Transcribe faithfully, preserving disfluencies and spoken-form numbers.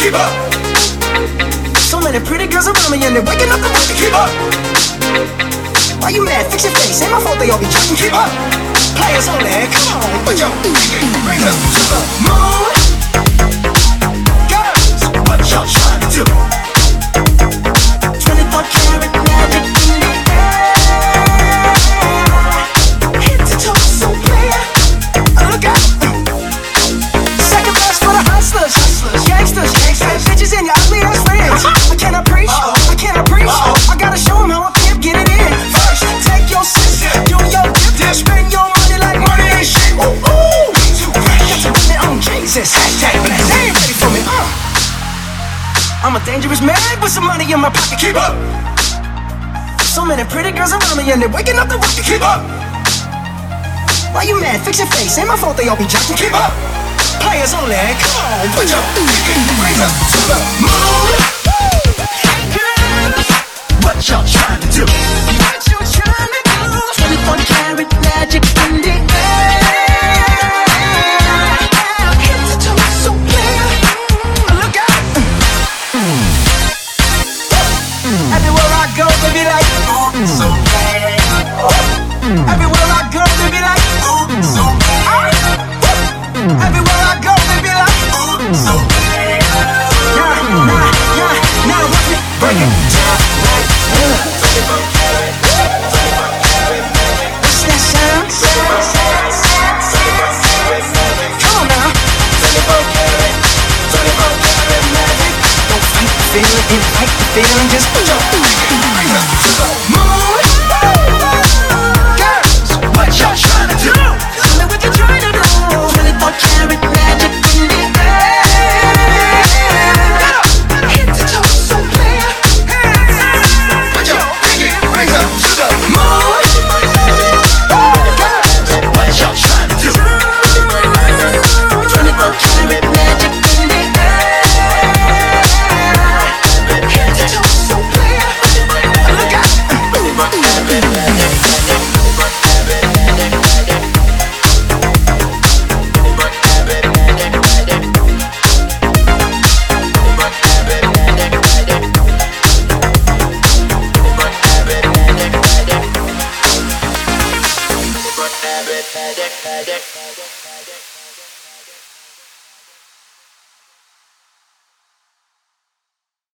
keep up. So many pretty girls around me and they're waking up the work to keep up. Why you mad? Fix your face. Ain't my fault they all be judging. Keep up. Players only. Come on, put your pinky rings up to the moon. Girls, what y'all trying to do? twenty-four karat magic in the air. Head to toe, so clear. Look out. Second best for the hustlers, hustlers, gangsters, gangsters, bitches and your ugly ass friends. I cannot preach, I cannot preach. I gotta show them how I can get it in. First, take your sis, do your dip, spend your money like money ain't shit. Ooh, ooh, too fresh. Got to run it on Jesus. Hashtag blessed. They ain't ready for me. Uh. I'm a dangerous man with some money in my pocket. Keep up. So many pretty girls around me and they're waking up the work to keep up. Why you mad? Fix your face. Ain't my fault they all be judging. Keep up. Players only. Come on, put your pinky rings up to the moon. Girls, what y'all trying to do? What you trying to do? twenty-four karat magic in the air. Head to toe, so clear. Look out. Everywhere I go, they be like, oh, so bad. Everywhere I go, they be like, oh, so bad. Everywhere I go, they be like, oh, so bad. Nah, nah, nah, nah, watch me break it down like twenty-four karat, twenty-four karat magic. What's that sound? Come on now. twenty-four karat, twenty-four karat magic. Don't fight the feeling, invite the feeling, just put your pinky rings up to the moon. Girls, what y'all trying to do? Tell me what you trying to do. twenty-four karat magic in the air. Head to toe, so clear. Put your pinky rings up to the moon. Girls, what y'all trying to do? twenty-four karat magic in the air. Head to toe, so clear. Look out. Magic, magic, magic.